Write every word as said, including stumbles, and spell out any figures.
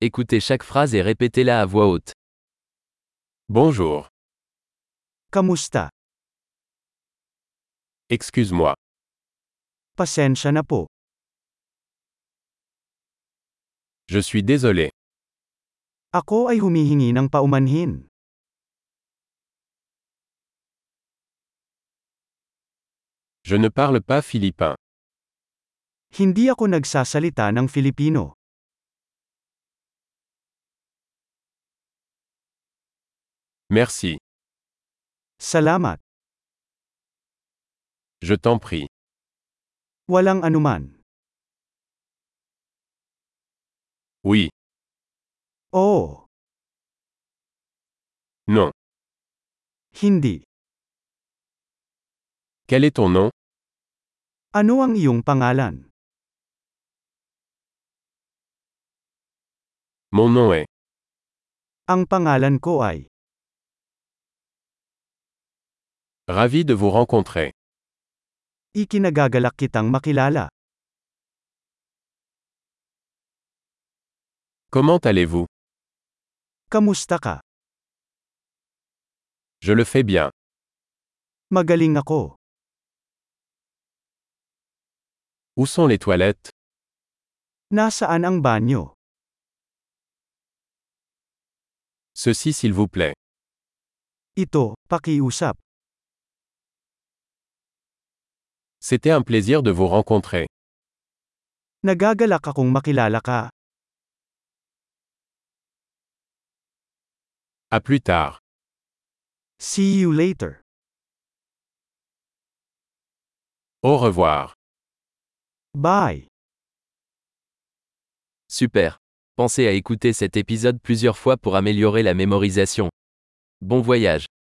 Écoutez chaque phrase et répétez-la à voix haute. Bonjour. Kamusta? Excuse-moi. Pasensya na po. Je suis désolé. Ako ay humihingi ng paumanhin. Je ne parle pas philippin. Hindi ako nagsasalita ng Filipino. Merci. Salamat. Je t'en prie. Walang anuman. Oui. Oo. Non. Hindi. Quel est ton nom? Ano ang iyong pangalan? Mon nom est. Ang pangalan ko ay. Ravi de vous rencontrer. Ikinagagalak kitang makilala. Comment allez-vous? Kamusta ka? Je le fais bien. Magaling ako. Où sont les toilettes? Nasaan ang banyo? Ceci s'il vous plaît. Ito, pakiusap. C'était un plaisir de vous rencontrer. Nagagalak akong makilala ka. À plus tard. See you later. Au revoir. Bye. Super. Pensez à écouter cet épisode plusieurs fois pour améliorer la mémorisation. Bon voyage.